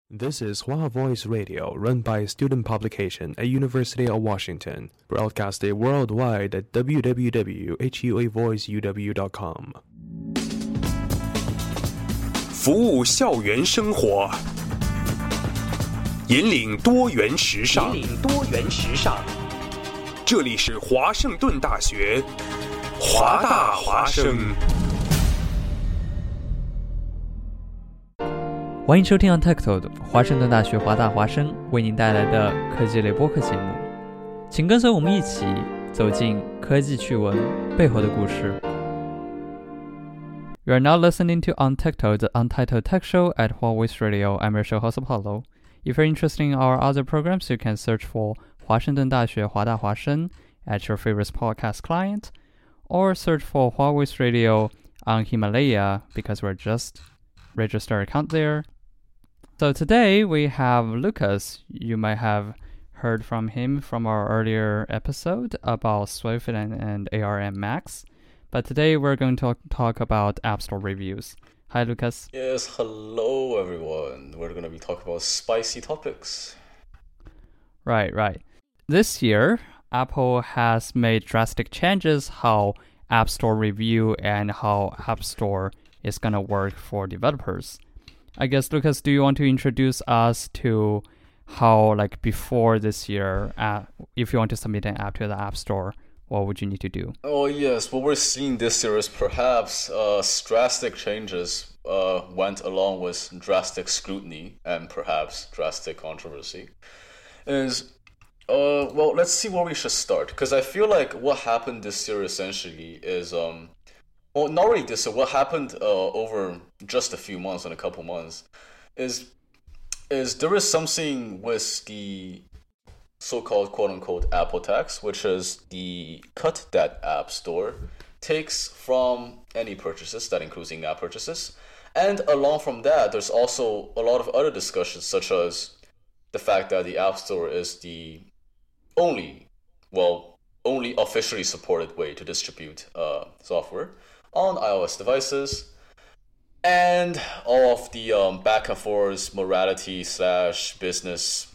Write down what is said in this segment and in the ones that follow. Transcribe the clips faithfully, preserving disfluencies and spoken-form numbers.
This is Hua Voice Radio, run by Student Publication at University of Washington, broadcasted worldwide at w w w dot hua voice u w dot com. 服务校园生活，引领多元时尚。引领多元时尚。这里是华盛顿大学，华大华生。 欢迎收听 Untitled 华盛顿大学华大华生为您带来的科技类播客节目，请跟随我们一起走进科技趣闻背后的故事。You are now listening to Untitled, the Untitled Tech Show at Huawei Radio. I'm your show host Apollo. If you're interested in our other programs, you can search for 华盛顿大学华大华生 at your favorite podcast client, or search for Huawei Radio on Himalaya because we're just registered account there.So today we have Lucas. You might have heard from him from our earlier episode about Swift and, and A R M Max. But today we're going to talk about App Store reviews. Hi, Lucas. Yes, hello everyone. We're going to be talking about spicy topics. Right, right. This year, Apple has made drastic changes how App Store review and how App Store is going to work for developers.I guess, Lucas, do you want to introduce us to how, like, before this year, uh, if you want to submit an app to the App Store, what would you need to do? Oh, yes. What we're seeing this year is perhaps uh, drastic changes uh, went along with drastic scrutiny and perhaps drastic controversy. Is, uh, well, let's see where we should start. Because I feel like what happened this year essentially is... um.Well, not really this. So what happened uh, over just a few months and a couple months is is there is something with the so-called quote-unquote Apple tax, which is the cut that App Store takes from any purchases, that includes in-app purchases. And along from that, there's also a lot of other discussions, such as the fact that the App Store is the only, well, only officially supported way to distribute uh, software.on iOS devices, and all of the um, back and forth morality slash business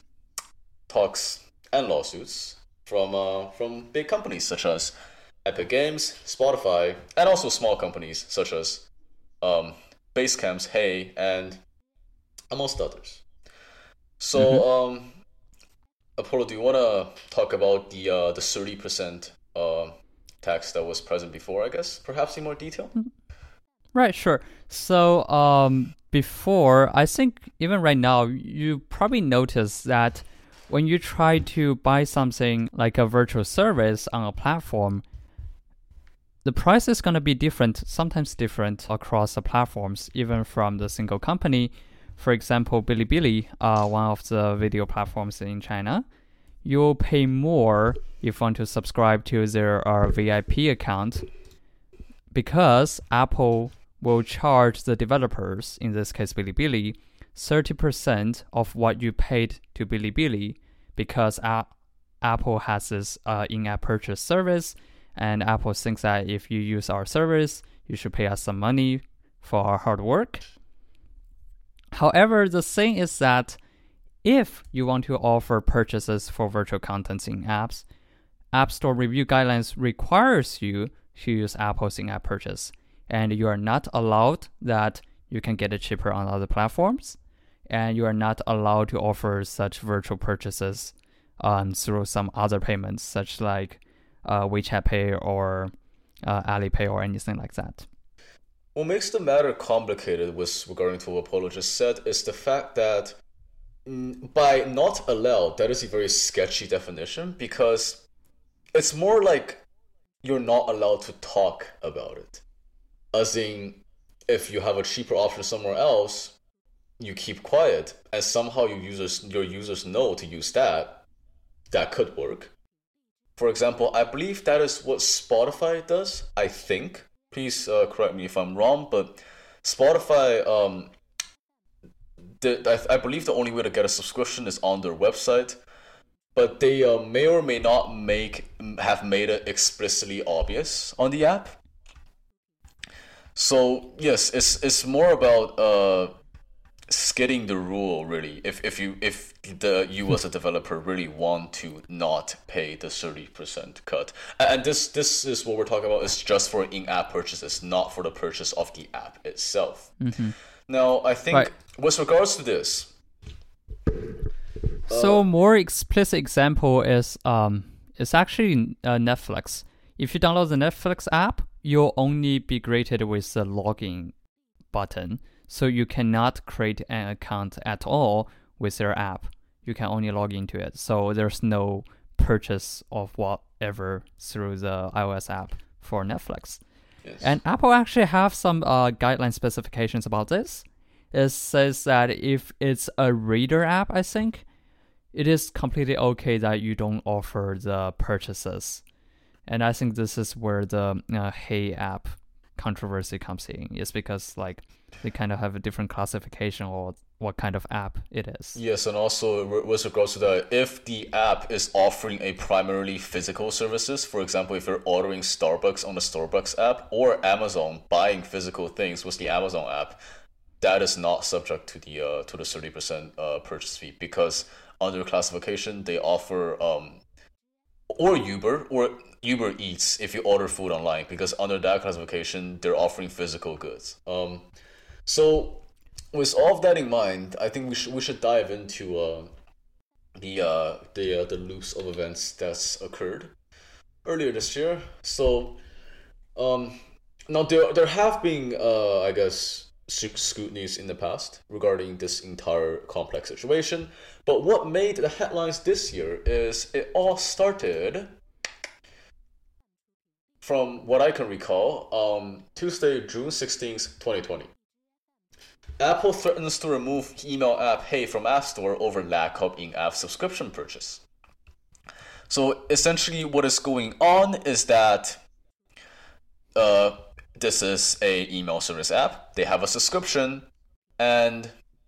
talks and lawsuits from uh, from big companies such as Epic Games, Spotify, and also small companies such as um, Basecamp's Hey, and amongst others. So, mm-hmm. um, Apollo, do you want to talk about the uh, the thirty percent uh, tax that was present before, I guess, perhaps in more detail? Right, sure. So um, before, I think even right now, you probably notice that when you try to buy something like a virtual service on a platform, the price is going to be different, sometimes different across the platforms, even from the single company. For example, Bilibili, uh, one of the video platforms in China, you'll pay more if you want to subscribe to their uh, V I P account because Apple will charge the developers, in this case Bilibili, thirty percent of what you paid to Bilibili because a- Apple has this uh, in-app purchase service, and Apple thinks that if you use our service, you should pay us some money for our hard work.However, the thing is that if you want to offer purchases for virtual contents in apps, App Store review guidelines requires you to use Apple's in-app purchase, and you are not allowed that you can get it cheaper on other platforms, and you are not allowed to offer such virtual purchases um, through some other payments, such like uh, WeChat Pay or uh, Alipay or anything like that.What makes the matter complicated with regarding to what Apollo just said is the fact that mm, by not allowed, that is a very sketchy definition because it's more like you're not allowed to talk about it. As in, if you have a cheaper option somewhere else, you keep quiet and somehow your users, your users know to use that. That could work. For example, I believe that is what Spotify does, I think.Please uh, correct me if I'm wrong, but Spotify, um, the, I, I believe the only way to get a subscription is on their website, but they uh, may or may not make have made it explicitly obvious on the app. So yes, it's it's more about uh, skidding the rule really. If if you if the you as a developer really want to not pay the thirty percent cut, and this this is what we're talking about is just for in-app purchases, not for the purchase of the app itself. Mm-hmm. Now I think right. with regards to this, so uh, more explicit example is um it's actually uh, Netflix. If you download the Netflix app, you'll only be greeted with the login button. So you cannot create an account at all with their app. You can only log into it. So there's no purchase of whatever through the iOS app for Netflix. yes. And Apple actually have some uh, guideline specifications about this. It says that if it's a reader app, I think, it is completely okay that you don't offer the purchases. And I think this is where the uh, Hey app controversy comes in. It's because like they kind of have a different classification or what kind of app it is. Yes, and also with regards to that, if the app is offering a primarily physical services, for example, if you're ordering Starbucks on the Starbucks app or Amazon buying physical things with the Amazon app, that is not subject to the uh, to the thirty percent uh, purchase fee, because under classification they offer um or Uber or Uber Eats if you order food online, because under that classification they're offering physical goods. Um, so with all of that in mind, I think we should we should dive into uh, the uh, the uh, the loops of events that's occurred earlier this year. So um, now there there have been uh, I guess scrutinies in the past regarding this entire complex situation, but what made the headlines this year is it all started from what I can recall, um, Tuesday, June sixteenth, twenty twenty. Apple threatens to remove email app Hey from App Store over lack of in-app subscription purchase. So essentially what is going on is that uh, this is a email service app. They have a subscription, and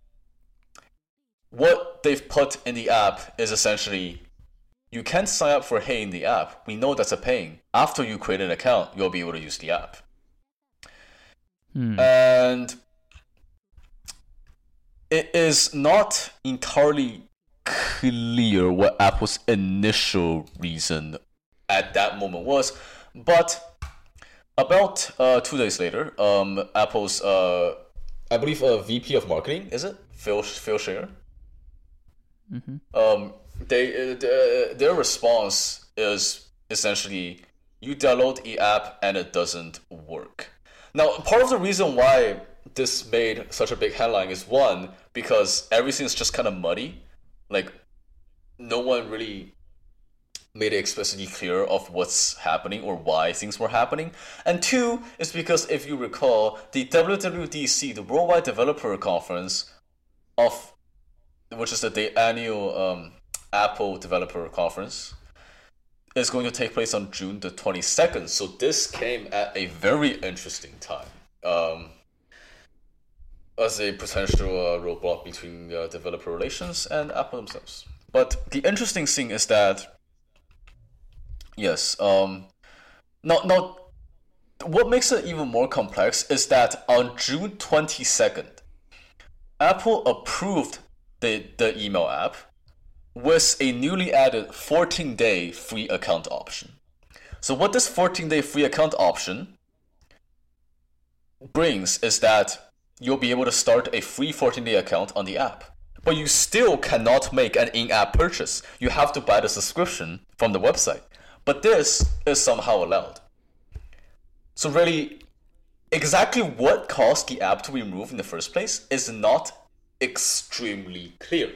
what they've put in the app is essentially you can't sign up for Hey in the app. We know that's a pain. After you create an account, you'll be able to use the app. Hmm. And it is not entirely clear what Apple's initial reason at that moment was, but about uh, two days later, um, Apple's, uh, I believe, uh, V P of marketing, is it? Phil Phil Schiller? Mm-hmm. Um, they uh, their response is essentially you download the app and it doesn't work. Now, part of the reason why this made such a big headline is, one, because everything's just kind of muddy. Like, no one really made it explicitly clear of what's happening or why things were happening. And two, is because if you recall, the W W D C, the Worldwide Developer Conference, of which is the, the annual um, Apple Developer Conference, is going to take place on June the twenty-second. So this came at a very interesting time. Um, as a potential uh, roadblock between uh, developer relations and Apple themselves. But the interesting thing is that, yes, um, not, not, what makes it even more complex is that on June twenty-second, Apple approved the, the email app with a newly added fourteen-day free account option. So what this fourteen-day free account option brings is that you'll be able to start a free fourteen-day account on the app. But you still cannot make an in-app purchase. You have to buy the subscription from the website. But this is somehow allowed. So really, exactly what caused the app to be removed in the first place is not extremely clear.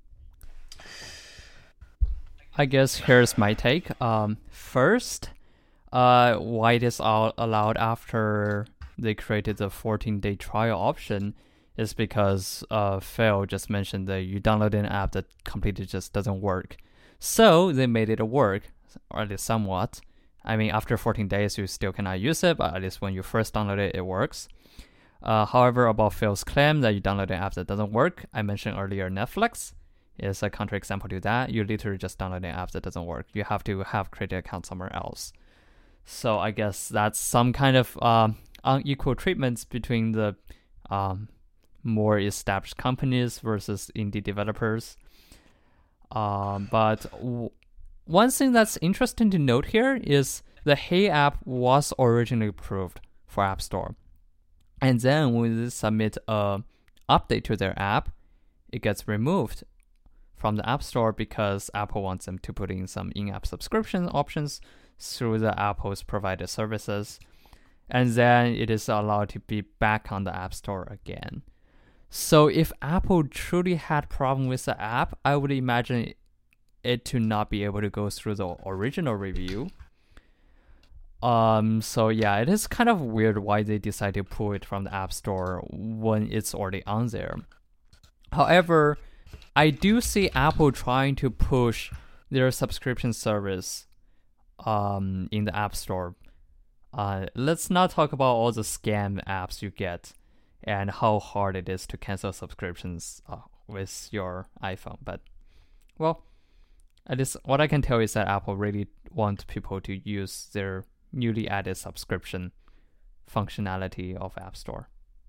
I guess here's my take. Um, first, uh, why it is all allowed after they created the fourteen-day trial option is because uh, Phil just mentioned that you download an app that completely just doesn't work. So they made it work, or at least somewhat. I mean, after fourteen days, you still cannot use it, but at least when you first download it, it works. Uh, however, about Phil's claim that you download an app that doesn't work, I mentioned earlier Netflix is a counterexample to that. You literally just download an app that doesn't work. You have to have created an account somewhere else. So I guess that's some kind of um, unequal treatments between the um, more established companies versus indie developers. Um, but w- one thing that's interesting to note here is the Hey app was originally approved for App Store. And then when they submit a update to their app, it gets removed from the App Store because Apple wants them to put in some in-app subscription options through the Apple's provided services. And then it is allowed to be back on the App Store again. So if Apple truly had problem with the app, I would imagine it to not be able to go through the original review. Um, so yeah, it is kind of weird why they decided to pull it from the App Store when it's already on there. However, I do see Apple trying to push their subscription service um, in the App Store. Uh, let's not talk about all the scam apps you get and how hard it is to cancel subscriptions uh, with your iPhone. But, well, at least what I can tell is that Apple really wants people to use their newly added subscription functionality of App Store.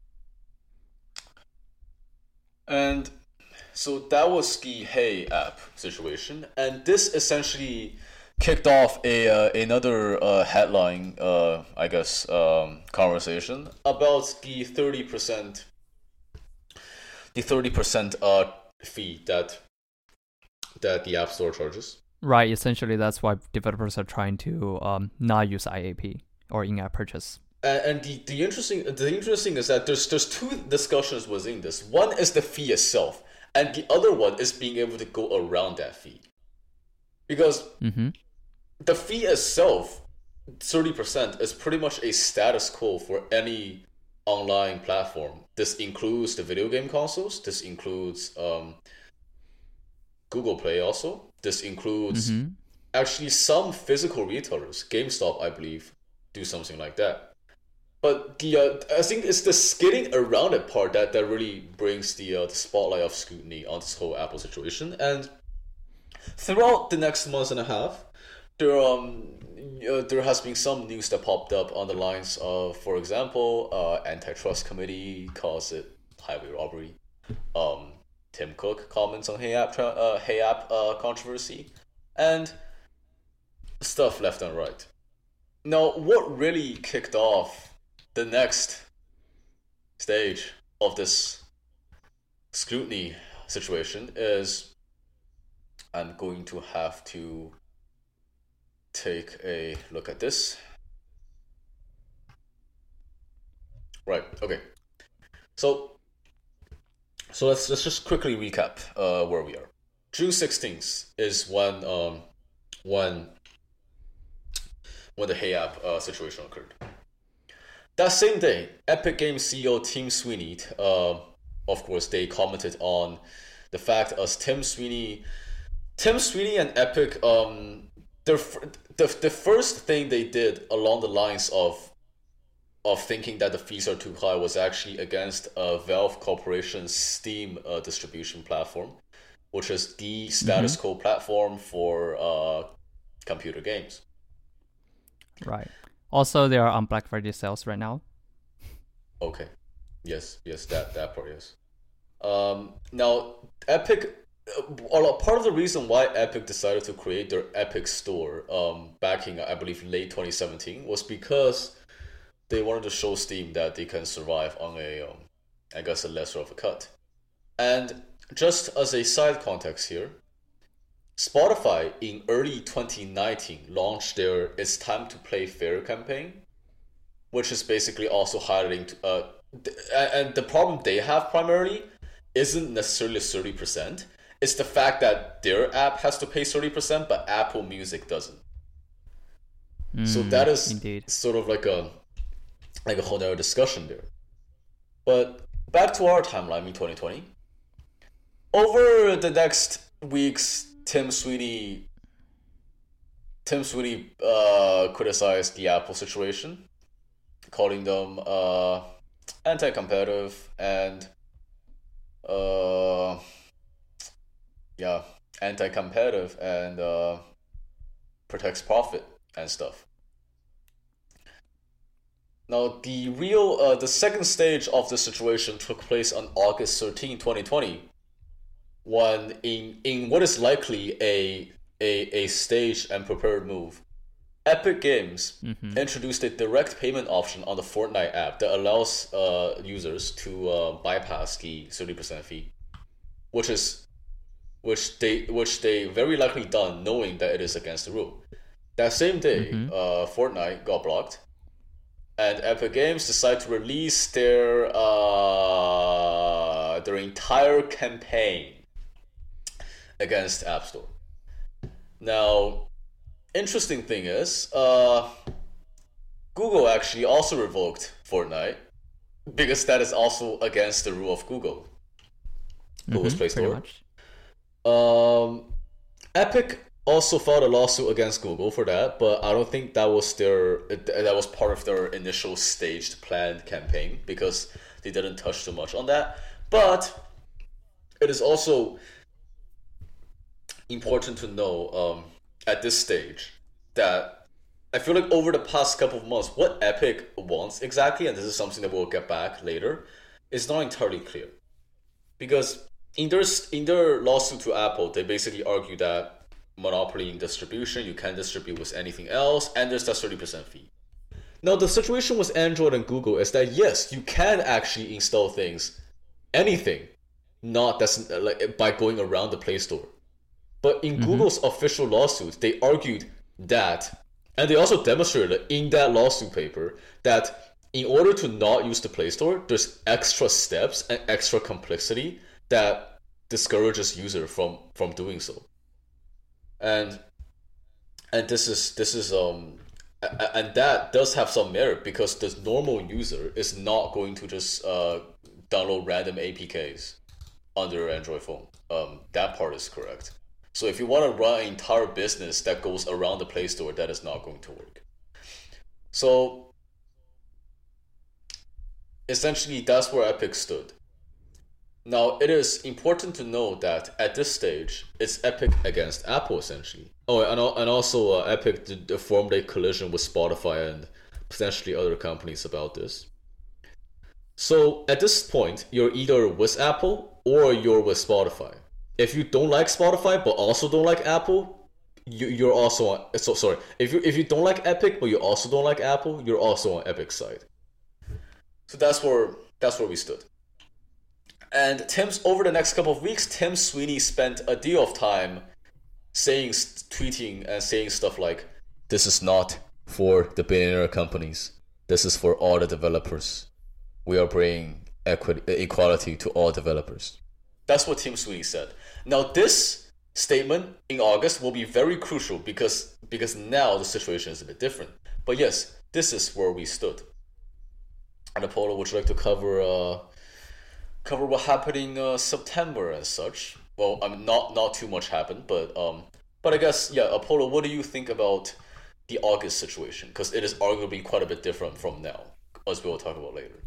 And so that was the Hey app situation. And this essentially kicked off a uh, another uh, headline, uh, I guess, um, conversation about the thirty percent, the thirty percent uh fee that that the App Store charges. Right. Essentially, that's why developers are trying to um, not use I A P or in-app purchase. And, and the, the interesting the interesting is that there's there's two discussions within this. One is the fee itself, and the other one is being able to go around that fee, because. Mm-hmm. The fee itself, thirty percent, is pretty much a status quo for any online platform. This includes the video game consoles. This includes um, Google Play also. This includes mm-hmm. actually some physical retailers. GameStop, I believe, do something like that. But the uh, I think it's the skating around it part that, that really brings the, uh, the spotlight of scrutiny on this whole Apple situation. And throughout the next month and a half, There um uh, there has been some news that popped up on the lines of, for example, uh, antitrust committee calls it highway robbery. Um, Tim Cook comments on Hey App tra- uh, Hey App uh, controversy, and stuff left and right. Now, what really kicked off the next stage of this scrutiny situation is, I'm going to have to take a look at this. Right, okay. So so let's let's just quickly recap uh, where we are. June sixteenth is when um when when the Hey app uh, situation occurred. That same day, Epic Games C E O Tim Sweeney, uh, of course, they commented on the fact as Tim Sweeney, Tim Sweeney and Epic, um, the the the first thing they did along the lines of of thinking that the fees are too high was actually against uh, Valve Corporation's Steam uh, distribution platform, which is the status mm-hmm. quo platform for uh, computer games. Right. Also, they are on Black Friday sales right now. Okay. Yes, yes, that, that part, yes. Um, now, Epic, uh, part of the reason why Epic decided to create their Epic Store um, back in, I believe, late twenty seventeen was because they wanted to show Steam that they can survive on a, um, I guess, a lesser of a cut. And just as a side context here, Spotify in early twenty nineteen launched their It's Time to Play Fair campaign, which is basically also highlighting, uh, th- and the problem they have primarily isn't necessarily thirty percent. It's the fact that their app has to pay thirty percent, but Apple Music doesn't. Mm, so that is indeed. Sort of like a like a whole other discussion there. But back to our timeline in twenty twenty. Over the next weeks, Tim Sweeney Tim Sweeney uh, criticized the Apple situation, calling them uh, anti-competitive and uh, yeah, anti-competitive and uh, protects profit and stuff. Now, the real, uh, the second stage of the situation took place on August thirteenth, twenty twenty, when in, in what is likely a, a, a staged and prepared move, Epic Games mm-hmm. introduced a direct payment option on the Fortnite app that allows uh, users to uh, bypass the thirty percent fee, which is which they which they very likely done knowing that it is against the rule. That same day, mm-hmm. uh, Fortnite got blocked, and Epic Games decided to release their uh, their entire campaign against App Store. Now, interesting thing is, uh, Google actually also revoked Fortnite because that is also against the rule of Google. Google's mm-hmm, Play Store. Um, Epic also filed a lawsuit against Google for that, but I don't think that was their that was part of their initial staged planned campaign because they didn't touch too much on that. But it is also important to know um, at this stage that I feel like over the past couple of months, what Epic wants exactly, and this is something that we'll get back later, is not entirely clear. Because in their, in their lawsuit to Apple, they basically argue that monopoly in distribution, you can't distribute with anything else, and there's that thirty percent fee. Now, the situation with Android and Google is that, yes, you can actually install things, anything, not that's like by going around the Play Store. But in mm-hmm. Google's official lawsuit, they argued that, and they also demonstrated in that lawsuit paper, that in order to not use the Play Store, there's extra steps and extra complexity that discourages user from, from doing so. And and this is this is um and that does have some merit because the normal user is not going to just uh, download random A P Ks on their Android phone. Um, that part is correct. So if you want to run an entire business that goes around the Play Store, that is not going to work. So essentially, that's where Epic stood. Now, it is important to know that at this stage, it's Epic against Apple, essentially. Oh, and, and also uh, Epic did, formed a collision with Spotify and potentially other companies about this. So at this point, you're either with Apple or you're with Spotify. If you don't like Spotify but also don't like Apple, you, you're also on. So sorry, if you if you don't like Epic but you also don't like Apple, you're also on Epic's side. So that's where that's where we stood. And Tim's over the next couple of weeks, Tim Sweeney spent a deal of time saying, tweeting, and saying stuff like, "This is not for the billionaire companies. This is for all the developers. We are bringing equity, equality to all developers." That's what Tim Sweeney said. Now, this statement in August will be very crucial because because now the situation is a bit different. But yes, this is where we stood. And Apollo, would you like to cover uh, cover what happened in uh, September and such? Well, I mean, not not too much happened, but um, but I guess yeah, Apollo, what do you think about the August situation? Because it is arguably quite a bit different from now, as we will talk about later.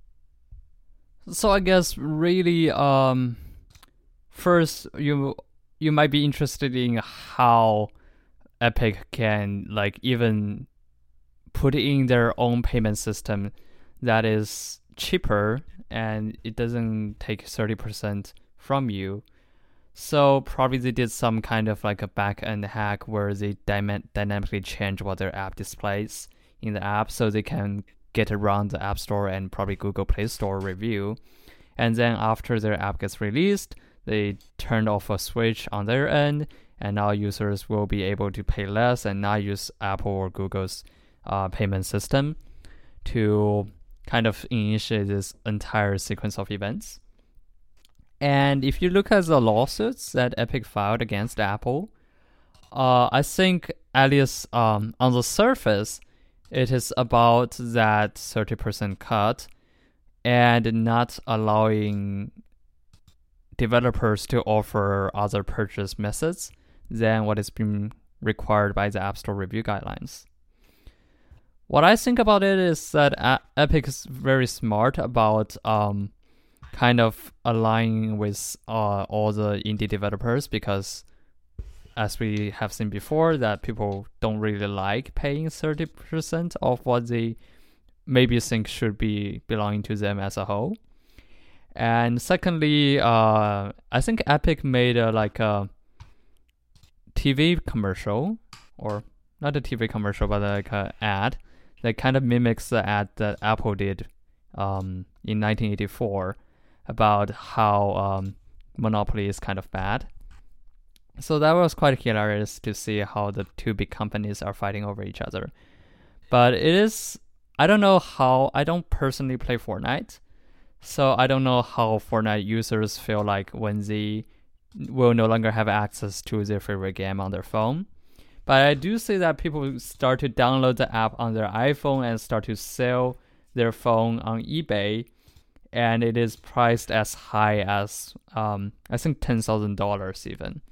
So I guess really, um, first you you might be interested in how Epic can like even put in their own payment system that is cheaper and it doesn't take thirty percent from you. So probably they did some kind of like a back-end hack where they dyma- dynamically change what their app displays in the app so they can get around the App Store and probably Google Play Store review. And then after their app gets released, they turn off a switch on their end, and now users will be able to pay less and not use Apple or Google's uh, payment system to kind of initiate this entire sequence of events. And if you look at the lawsuits that Epic filed against Apple, uh, I think at least um, on the surface, it is about that thirty percent cut and not allowing developers to offer other purchase methods than what is being required by the App Store review guidelines. What I think about it is that A- Epic is very smart about um, kind of aligning with uh, all the indie developers because as we have seen before, that people don't really like paying thirty percent of what they maybe think should be belonging to them as a whole. And secondly, uh, I think Epic made a, like a T V commercial, or not a T V commercial, but like an ad that kind of mimics the ad that Apple did um, in nineteen eighty-four about how um, monopoly is kind of bad. So that was quite hilarious to see how the two big companies are fighting over each other. But it is, I don't know how, I don't personally play Fortnite, so I don't know how Fortnite users feel like when they will no longer have access to their favorite game on their phone. But I do see that people start to download the app on their iPhone and start to sell their phone on eBay, and it is priced as high as, um, I think, ten thousand dollars even.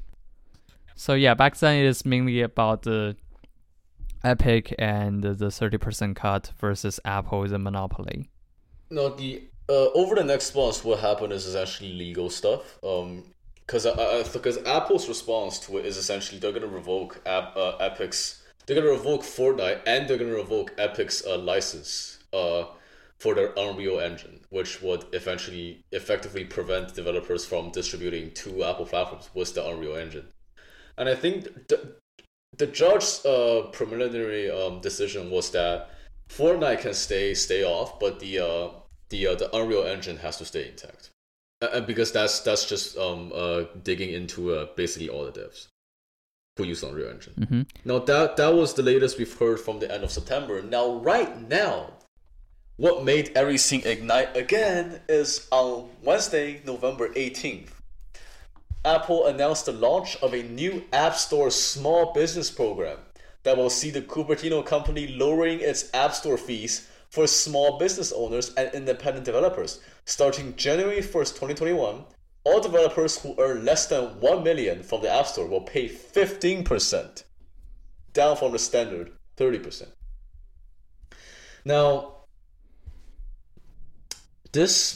So yeah, back then it is mainly about the Epic and the thirty percent cut versus Apple, the monopoly. No, the uh, over the next months, what happened is essentially legal stuff. Um, because because Apple's response to it is essentially they're gonna revoke App, uh, Epic's, they're gonna revoke Fortnite, and they're gonna revoke Epic's uh, license uh for their Unreal Engine, which would eventually effectively prevent developers from distributing to Apple platforms with the Unreal Engine. And I think the, the judge's uh, preliminary um, decision was that Fortnite can stay stay off, but the uh, the uh, the Unreal Engine has to stay intact. And because that's that's just um uh digging into uh, basically all the devs who use Unreal Engine. Mm-hmm. Now that that was the latest we've heard from the end of September. Now right now, what made everything ignite again is on Wednesday, November eighteenth. Apple announced the launch of a new App Store small business program that will see the Cupertino company lowering its App Store fees for small business owners and independent developers. Starting January first, twenty twenty-one, all developers who earn less than one million dollars from the App Store will pay fifteen percent, down from the standard thirty percent. Now, this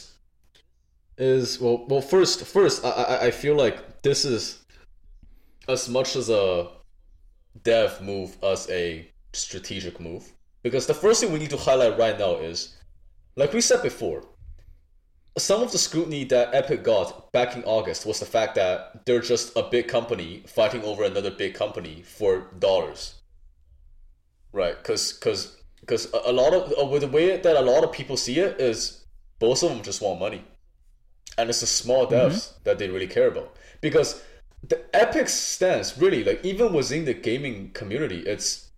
is well well first first I, I I feel like this is as much as a dev move as a strategic move, because the first thing we need to highlight right now is, like we said before, some of the scrutiny that Epic got back in August was the fact that they're just a big company fighting over another big company for dollars, right? Because because because a lot of with the way that a lot of people see it is both of them just want money. And it's the small devs mm-hmm. that they really care about. Because the Epic stance, really, like even within the gaming community, it's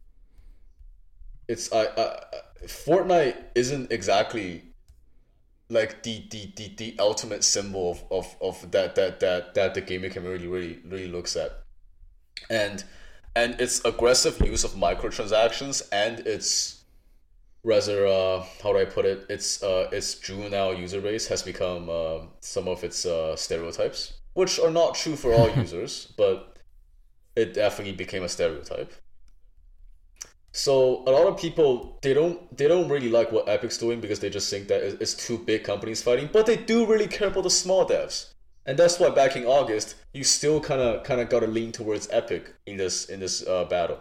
it's uh, uh, Fortnite isn't exactly like the the, the, the ultimate symbol of, of, of that, that that that the gaming community really really looks at. And and its aggressive use of microtransactions and its rather uh how do I put it its uh its juvenile user base has become uh, some of its uh stereotypes, which are not true for all users, but it definitely became a stereotype. So a lot of people, they don't they don't really like what Epic's doing because they just think that it's two big companies fighting, but they do really care about the small devs. And that's why back in August you still kind of kind of got to lean towards Epic in this in this uh, battle.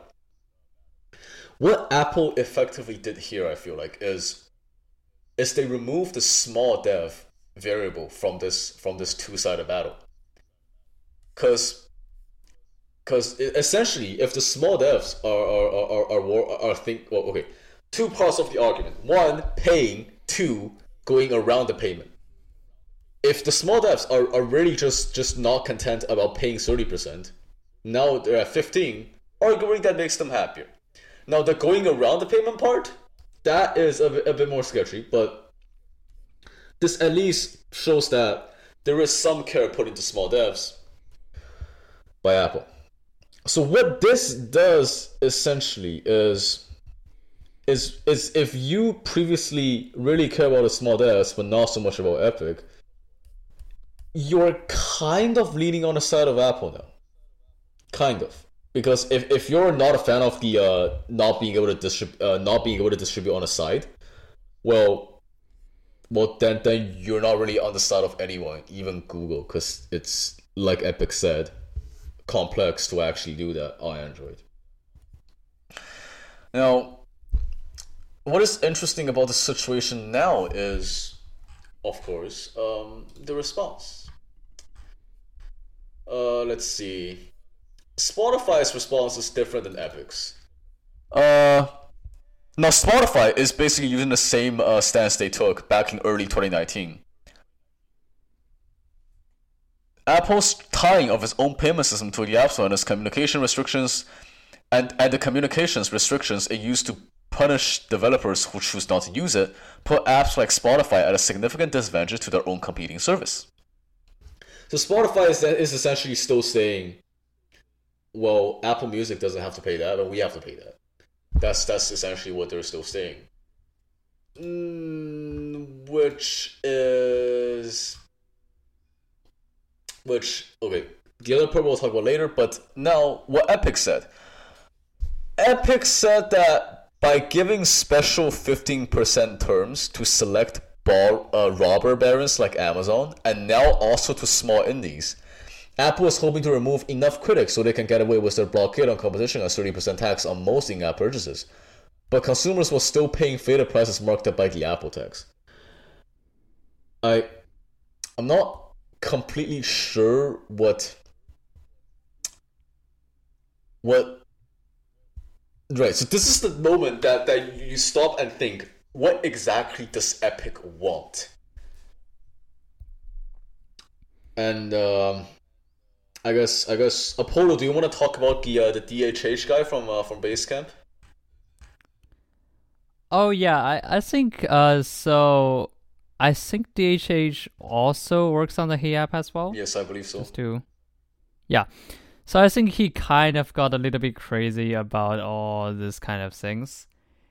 What Apple effectively did here, I feel like, is is they removed the small dev variable from this from this two-sided battle. Because because essentially, if the small devs are are are are, are, are think well, okay, two parts of the argument: one, paying; two, going around the payment. If the small devs are, are really just just not content about paying thirty percent, now they're at fifteen, arguing that makes them happier. Now, the going around the payment part, that is a bit, a bit more sketchy, but this at least shows that there is some care put into small devs by Apple. So what this does essentially is, is, is if you previously really care about the small devs, but not so much about Epic, you're kind of leaning on the side of Apple now. Kind of. Because if, if you're not a fan of the uh, not being able to distribute uh, not being able to distribute on a side, well, well then then you're not really on the side of anyone, even Google, because it's, like Epic said, complex to actually do that on Android. Now, what is interesting about the situation now is, of course, um, the response. Uh, let's see. Spotify's response is different than Epic's. Uh, now Spotify is basically using the same uh, stance they took back in early twenty nineteen. Apple's tying of its own payment system to the App Store and its communication restrictions and, and the communications restrictions it used to punish developers who choose not to use it put apps like Spotify at a significant disadvantage to their own competing service. So Spotify is, is essentially still saying, well, Apple Music doesn't have to pay that, but we have to pay that. That's that's essentially what they're still saying. Mm, which is... Which, okay, the other part we'll talk about later, but now what Epic said. Epic said that by giving special fifteen percent terms to select bar, uh, robber barons like Amazon, and now also to small indies, Apple is hoping to remove enough critics so they can get away with their blockade on competition and thirty percent tax on most in-app purchases. But consumers were still paying faded prices marked up by the Apple tax. I, I'm not completely sure what... What... Right, so this is the moment that, that you stop and think, what exactly does Epic want? And, um... I guess I guess Apollo, do you want to talk about the uh, the D H H guy from uh, from Basecamp? Oh yeah, I I think uh so I think D H H also works on the Hey app as well. Yes, I believe so. Just to, yeah. So I think he kind of got a little bit crazy about all this kind of things,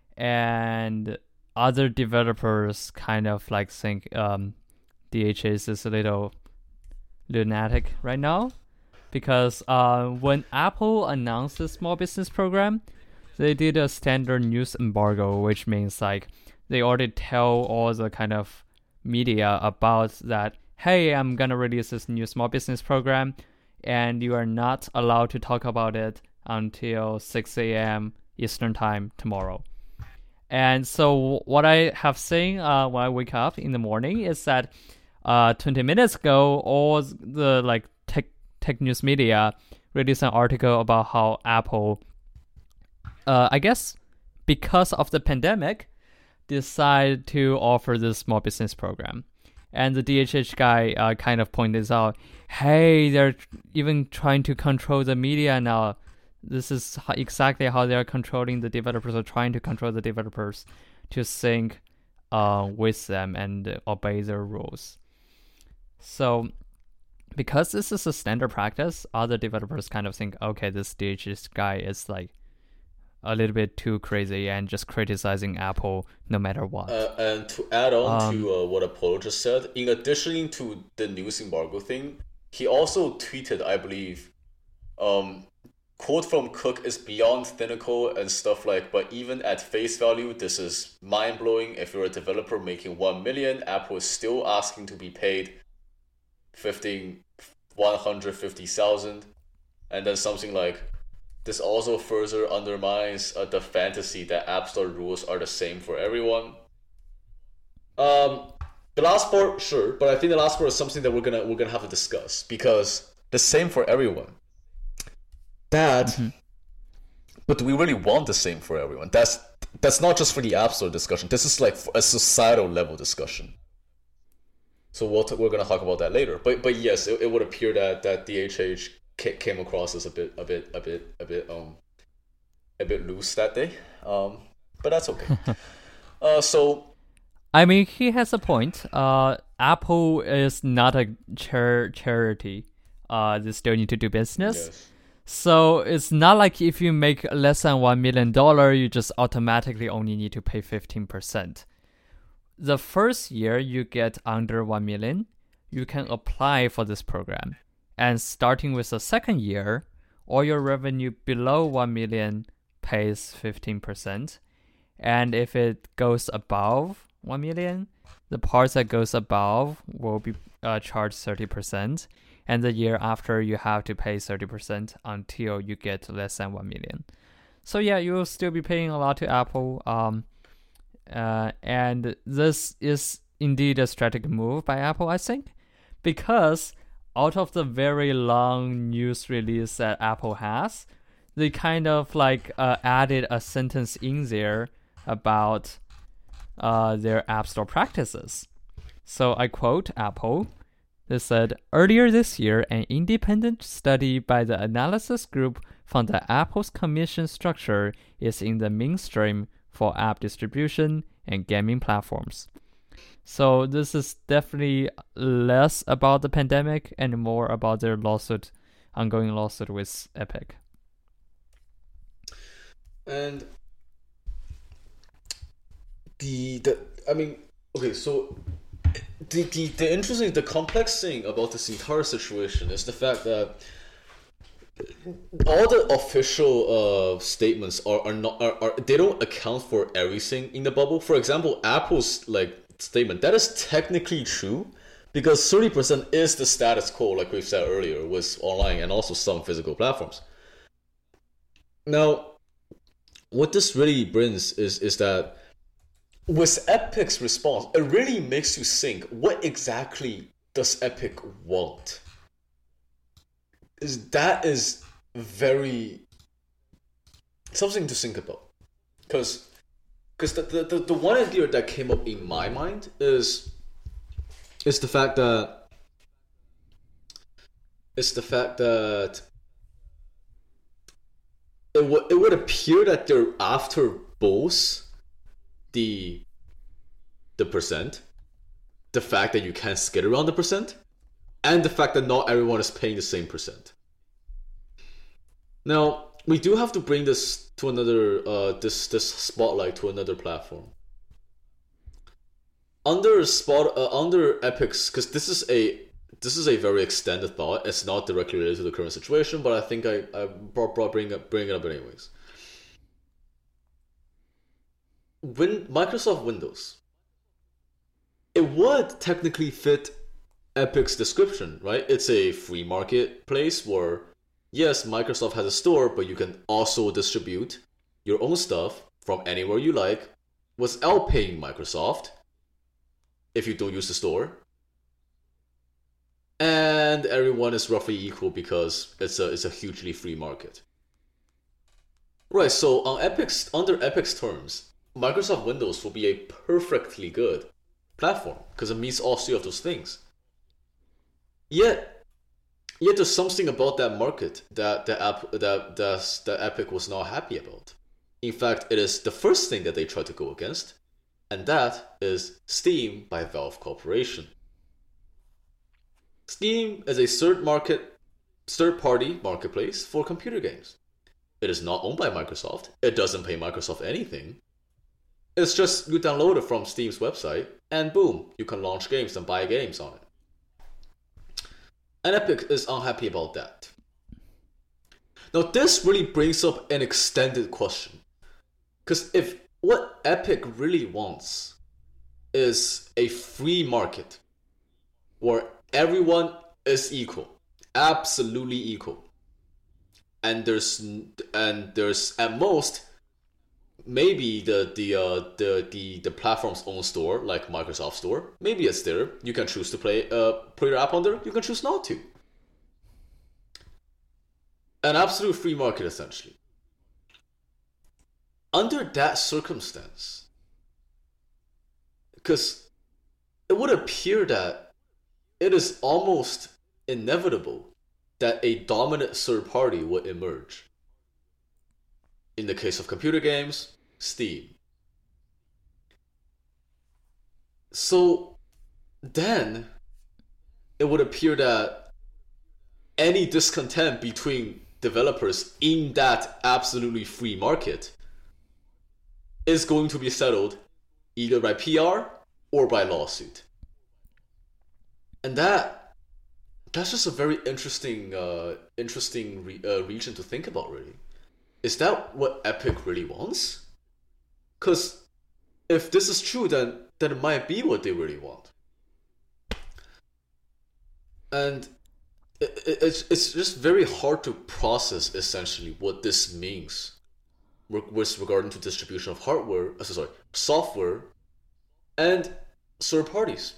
and other developers kind of like think um D H H is a little lunatic right now. Because uh, when Apple announced the small business program, they did a standard news embargo, which means like they already tell all the kind of media about that, hey, I'm gonna release this new small business program, and you are not allowed to talk about it until six a.m. Eastern time tomorrow. And so what I have seen uh, when I wake up in the morning is that uh, twenty minutes ago, all the like tech Tech news media released an article about how Apple, uh, I guess, because of the pandemic, decided to offer this small business program. And the D H H guy uh, kind of pointed out, hey, they're even trying to control the media now. This is how, exactly how they're controlling the developers, or trying to control the developers to sync uh, with them and obey their rules. So because this is a standard practice, other developers kind of think, okay, this D H H guy is like a little bit too crazy and just criticizing Apple no matter what. Uh, and to add on um, to uh, what Apollo just said, in addition to the news embargo thing, he also tweeted, I believe, um, quote from Cook is beyond cynical and stuff like, but even at face value, this is mind-blowing. If you're a developer making one million, Apple is still asking to be paid fifteen, one hundred fifty thousand, and then something like, this also further undermines uh, the fantasy that App Store rules are the same for everyone. Um, the last part, sure, but I think the last part is something that we're gonna we're gonna have to discuss, because the same for everyone. That, mm-hmm. But do we really want the same for everyone? That's that's not just for the App Store discussion. This is like a societal level discussion. So we'll t- we're gonna talk about that later. But but yes, it, it would appear that, that D H H came across as a bit a bit a bit a bit um a bit loose that day. Um, but that's okay. uh, so I mean, he has a point. Uh, Apple is not a char- charity. Uh, they still need to do business. Yes. So it's not like if you make less than one million dollar, you just automatically only need to pay fifteen percent. The first year you get under one million, you can apply for this program. And starting with the second year, all your revenue below one million pays fifteen percent. And if it goes above one million, the parts that goes above will be uh, charged thirty percent. And the year after, you have to pay thirty percent until you get less than one million. So yeah, you will still be paying a lot to Apple. Um, uh, and this is indeed a strategic move by Apple, I think, because out of the very long news release that Apple has, they kind of like uh, added a sentence in there about uh, their App Store practices. So I quote Apple. They said, earlier this year, an independent study by the analysis group found that Apple's commission structure is in the mainstream for app distribution and gaming platforms. So this is definitely less about the pandemic and more about their lawsuit, ongoing lawsuit with Epic. And the the I mean, okay, so the the, the interesting, the complex thing about this entire situation is the fact that all the official uh, statements are, are not are, are they don't account for everything in the bubble. For example, Apple's like statement, that is technically true because thirty percent is the status quo, like we've said earlier, with online and also some physical platforms. Now, what this really brings is is that with Epic's response, it really makes you think, what exactly does Epic want? Is that is very something to think about, because because the, the, the, the one idea that came up in my mind is is the fact that is the fact that it would it would appear that they're after both the the percent, the fact that you can't skate around the percent, and the fact that not everyone is paying the same percent. Now, we do have to bring this to another uh, this this spotlight to another platform. Under spot uh, under Epic's, because this is a this is a very extended thought. It's not directly related to the current situation, but I think I I brought, brought bring up bring it up anyways. When Microsoft Windows, it would technically fit Epic's description, right? It's a free marketplace where, yes, Microsoft has a store, but you can also distribute your own stuff from anywhere you like without paying Microsoft if you don't use the store. And everyone is roughly equal because it's a it's a hugely free market. Right, so on Epic's under Epic's terms, Microsoft Windows will be a perfectly good platform because it meets all three of those things. Yet, yet there's something about that market that the app that that that Epic was not happy about. In fact, it is the first thing that they tried to go against, and that is Steam by Valve Corporation. Steam is a third market, third-party marketplace for computer games. It is not owned by Microsoft. It doesn't pay Microsoft anything. It's just you download it from Steam's website, and boom, you can launch games and buy games on it. And Epic is unhappy about that. Now, this really brings up an extended question. Because if what Epic really wants is a free market where everyone is equal, absolutely equal, and there's and there's at most maybe the the uh, the the the platform's own store, like Microsoft Store, maybe it's there. You can choose to play uh put your app on there. You can choose not to. An absolute free market, essentially. Under that circumstance, because it would appear that it is almost inevitable that a dominant third party would emerge. In the case of computer games, Steam. So then it would appear that any discontent between developers in that absolutely free market is going to be settled either by P R or by lawsuit. And that that's just a very interesting uh, interesting re- uh, region to think about, really. Is that what Epic really wants? Because if this is true, then, then it might be what they really want. And it, it, it's, it's just very hard to process, essentially, what this means with regarding to distribution of hardware, uh, sorry, software, and third parties.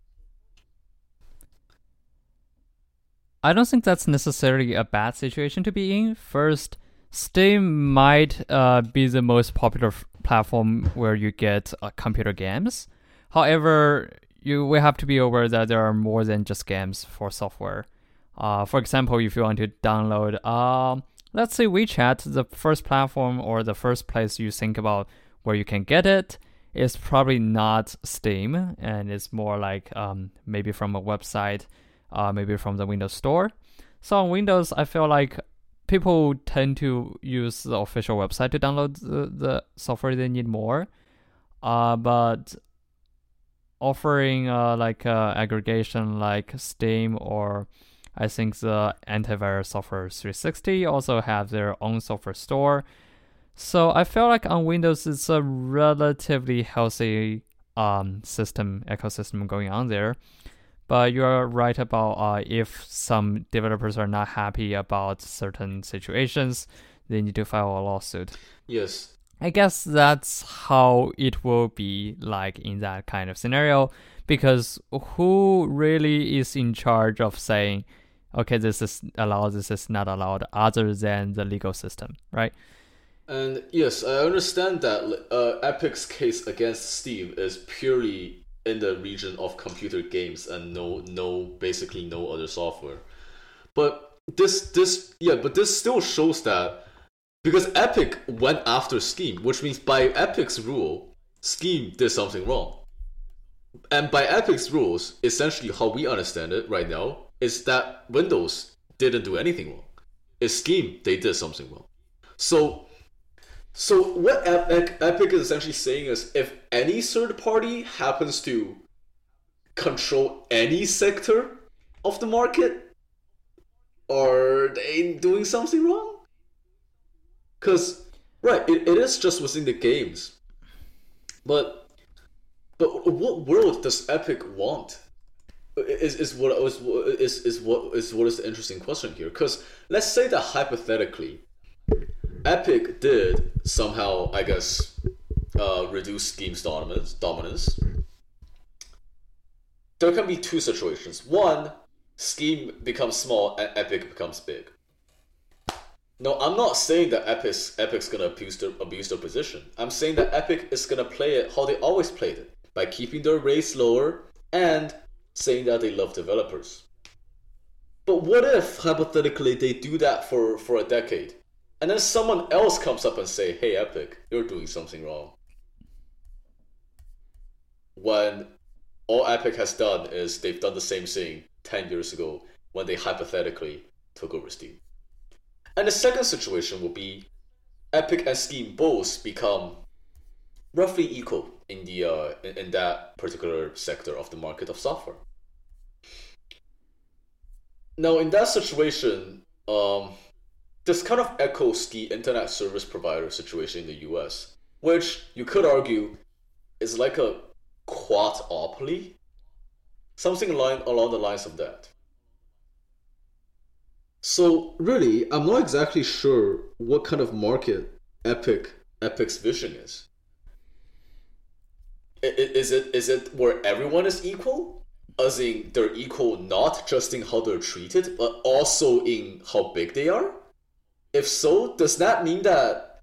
I don't think that's necessarily a bad situation to be in. First, Steam might uh, be the most popular f- platform where you get uh, computer games. However, you we have to be aware that there are more than just games for software. Uh, for example, if you want to download, uh, let's say WeChat, the first platform or the first place you think about where you can get it is probably not Steam, and it's more like um, maybe from a website, uh, maybe from the Windows Store. So on Windows, I feel like people tend to use the official website to download the, the software they need more. Uh, but offering uh, like uh, aggregation like Steam, or I think the antivirus software three sixty also have their own software store. So I feel like on Windows it's a relatively healthy um, system, ecosystem going on there. But you're right about uh, if some developers are not happy about certain situations, they need to file a lawsuit. Yes. I guess that's how it will be like in that kind of scenario, because who really is in charge of saying, okay, this is allowed, this is not allowed, other than the legal system, right? And yes, I understand that uh, Epic's case against Steam is purely in the region of computer games and no, no, basically no other software. But this, this, yeah, but this still shows that because Epic went after Steam, which means by Epic's rule, Steam did something wrong. And by Epic's rules, essentially how we understand it right now is that Windows didn't do anything wrong. It's Steam, they did something wrong. So, so what Epic, Epic is essentially saying is if any third party happens to control any sector of the market, are they doing something wrong? Because, right, it, it is just within the games. But but what world does Epic want? Is is what is is is what is what is the interesting question here? Because let's say that hypothetically, Epic did somehow, I guess, uh, reduce Steam's dominance. Dominance. There can be two situations. One, Steam becomes small and Epic becomes big. No, I'm not saying that Epic's Epic's gonna abuse their abuse their position. I'm saying that Epic is gonna play it how they always played it, by keeping their rates lower and saying that they love developers. But what if hypothetically they do that for, for a decade, and then someone else comes up and say, "Hey, Epic, you're doing something wrong," when all Epic has done is they've done the same thing ten years ago when they hypothetically took over Steam. And the second situation will be Epic and Steam both become roughly equal in the uh, in, in that particular sector of the market of software. Now, in that situation, um, this kind of echoes the internet service provider situation in the U S, which you could argue is like a quad-opoly, something along, along the lines of that. So really, I'm not exactly sure what kind of market Epic Epic's vision is. Is it is it where everyone is equal, as in they're equal not just in how they're treated, but also in how big they are? If so, does that mean that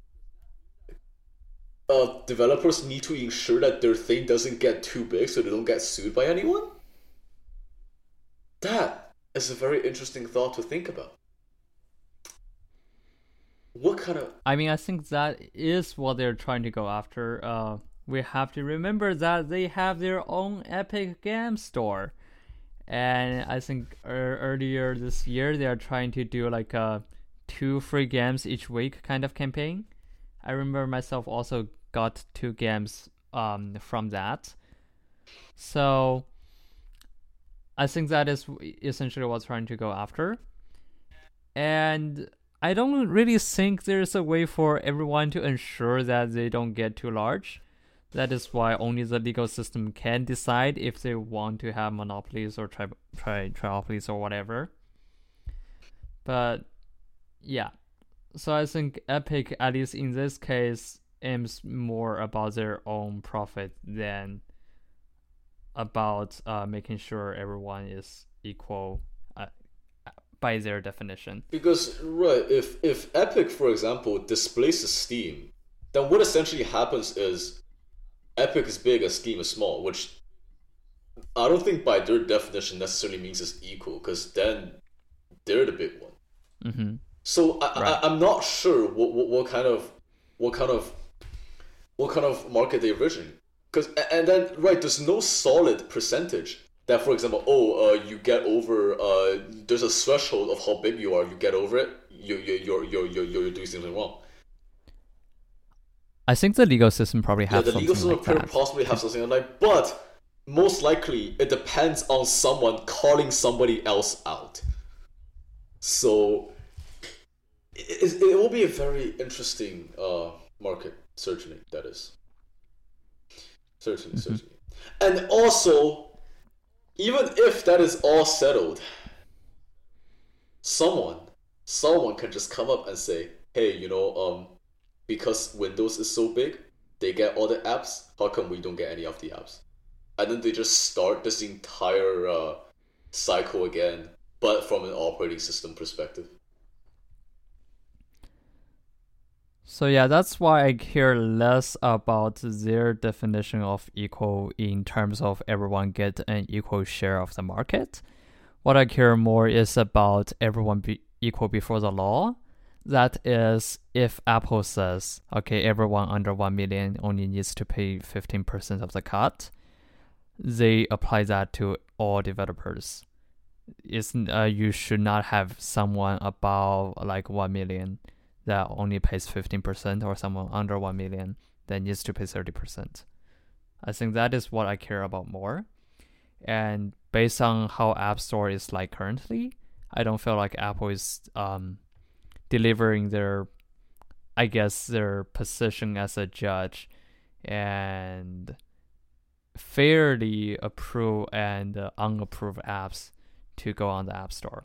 uh, developers need to ensure that their thing doesn't get too big so they don't get sued by anyone? That is a very interesting thought to think about. What kind of... I mean, I think that is what they're trying to go after. Uh, we have to remember that they have their own Epic Game Store. And I think er- earlier this year, they are trying to do like a two free games each week kind of campaign. I remember myself also got two games um, from that. So I think that is essentially what's trying to go after. And I don't really think there's a way for everyone to ensure that they don't get too large. That is why only the legal system can decide if they want to have monopolies or tri- tri- triopolies or whatever. But yeah, So I think Epic, at least in this case, aims more about their own profit than about uh, making sure everyone is equal uh, by their definition. Because, right, if, if Epic, for example, displaces Steam, then what essentially happens is Epic is big and Steam is small, which I don't think by their definition necessarily means it's equal, because then they're the big one. Mm-hmm. So I, right. I, I'm not sure what, what, what kind of what kind of what kind of market they originate. Because and then right, there's no solid percentage that, for example, oh, uh, you get over. Uh, there's a threshold of how big you are. You get over it, you you you're you're you're, you're doing something wrong. I think the legal system probably has yeah, the legal system like that. possibly have something like, but most likely it depends on someone calling somebody else out. So it, it will be a very interesting uh, market, certainly. That is certainly, mm-hmm. certainly, and also, even if that is all settled, someone, someone can just come up and say, "Hey, you know, um, because Windows is so big, they get all the apps. How come we don't get any of the apps?" And then they just start this entire uh, cycle again, but from an operating system perspective. So yeah, that's why I care less about their definition of equal in terms of everyone get an equal share of the market. What I care more is about everyone be equal before the law. That is, if Apple says, okay, everyone under one million only needs to pay fifteen percent of the cut, they apply that to all developers. It's, uh, you should not have someone above like one million that only pays fifteen percent or someone under one million that needs to pay thirty percent. I think that is what I care about more. And based on how App Store is like currently, I don't feel like Apple is um, delivering their, I guess, their position as a judge and fairly approve and uh, unapproved apps to go on the App Store.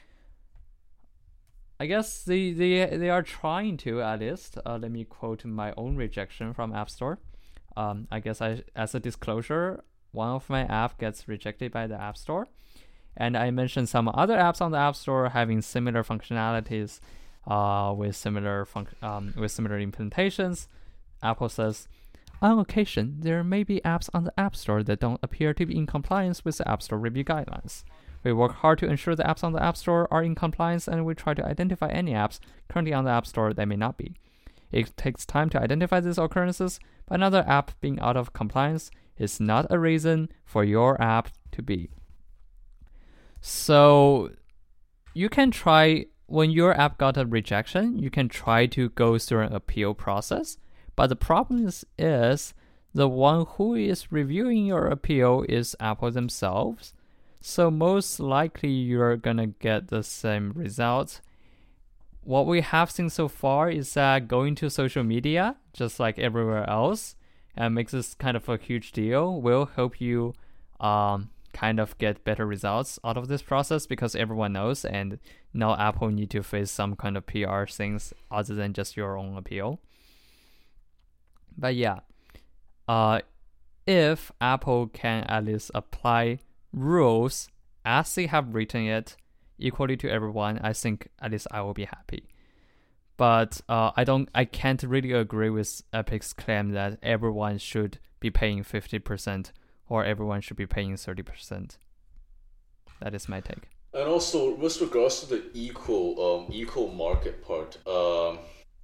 I guess they, they, they are trying to, at least. Uh, let me quote my own rejection from App Store. Um, I guess I, as a disclosure, one of my apps gets rejected by the App Store. And I mentioned some other apps on the App Store having similar functionalities uh, with similar func- um, with similar implementations. Apple says, on occasion, there may be apps on the App Store that don't appear to be in compliance with the App Store review guidelines. We work hard to ensure the apps on the App Store are in compliance, and we try to identify any apps currently on the App Store that may not be. It takes time to identify these occurrences, but another app being out of compliance is not a reason for your app to be. So you can try, when your app got a rejection, you can try to go through an appeal process. But the problem is, is the one who is reviewing your appeal is Apple themselves. So most likely you're going to get the same results. What we have seen so far is that going to social media, just like everywhere else, and makes this kind of a huge deal, will help you um, kind of get better results out of this process, because everyone knows, and now Apple need to face some kind of P R things other than just your own appeal. But yeah, uh, if Apple can at least apply rules as they have written it equally to everyone, I think at least I will be happy. But uh, I don't, I can't really agree with Epic's claim that everyone should be paying fifty percent or everyone should be paying thirty percent. That is my take. And also, with regards to the equal, um, equal market part, um,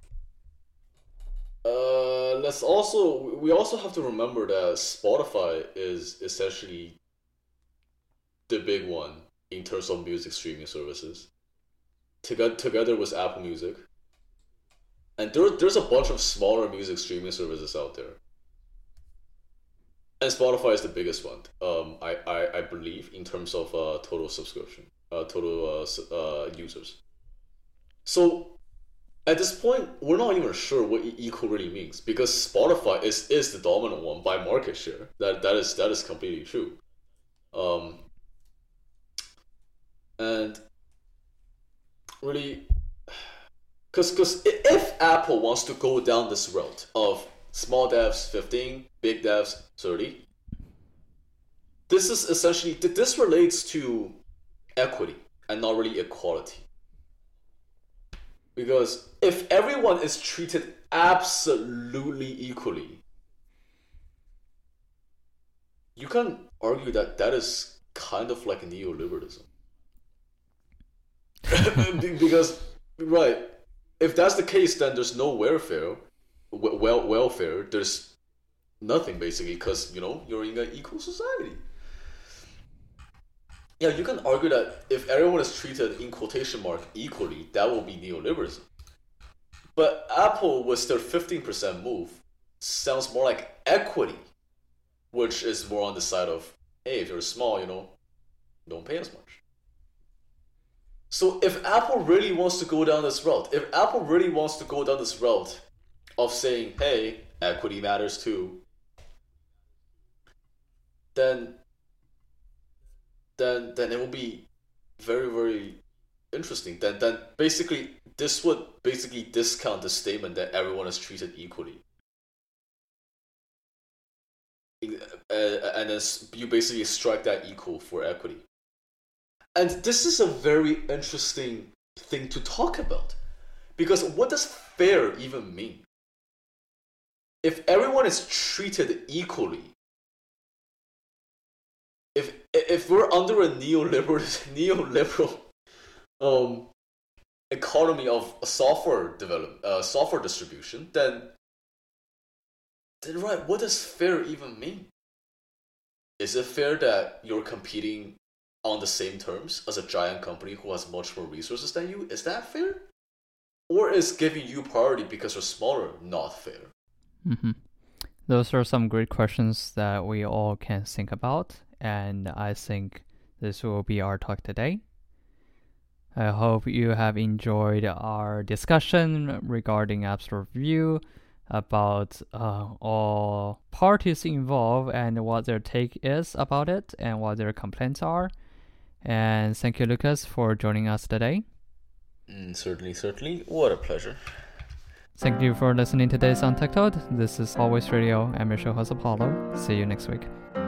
uh, let's also, we also have to remember that Spotify is essentially the big one in terms of music streaming services, together together with Apple Music. And there, there's a bunch of smaller music streaming services out there. And Spotify is the biggest one, um, I, I, I believe, in terms of uh, total subscription, uh, total uh, uh, users. So at this point, we're not even sure what equal really means, because Spotify is, is the dominant one by market share. That that is that is completely true. Um, and really, because if Apple wants to go down this route of small devs fifteen, big devs thirty, this is essentially, this relates to equity and not really equality. Because if everyone is treated absolutely equally, you can argue that that is kind of like neoliberalism. Because, right, if that's the case, then there's no welfare, well, welfare, there's nothing basically, because, you know, you're in an equal society. Yeah, you can argue that if everyone is treated in quotation mark equally, that will be neoliberalism. But Apple with their fifteen percent move sounds more like equity, which is more on the side of, hey, if you're small, you know, don't pay as much. So if Apple really wants to go down this route, if Apple really wants to go down this route of saying, hey, equity matters too, then then then it will be very, very interesting. Then then basically this would basically discount the statement that everyone is treated equally. Uh, and then you basically strike that equal for equity. And this is a very interesting thing to talk about. Because what does fair even mean? If everyone is treated equally, if if we're under a neoliberal neoliberal um economy of software develop uh, software distribution, then then right, what does fair even mean? Is it fair that you're competing on the same terms as a giant company who has much more resources than you? Is that fair? Or is giving you priority because you're smaller not fair? Mm-hmm. Those are some great questions that we all can think about, and I think this will be our talk today. I hope you have enjoyed our discussion regarding App Store Review, about uh, all parties involved and what their take is about it and what their complaints are. And thank you, Lucas, for joining us today. Mm, certainly, certainly. What a pleasure. Thank you for listening to today's Untitled. This is Always Radio. I'm your show host, Apollo. See you next week.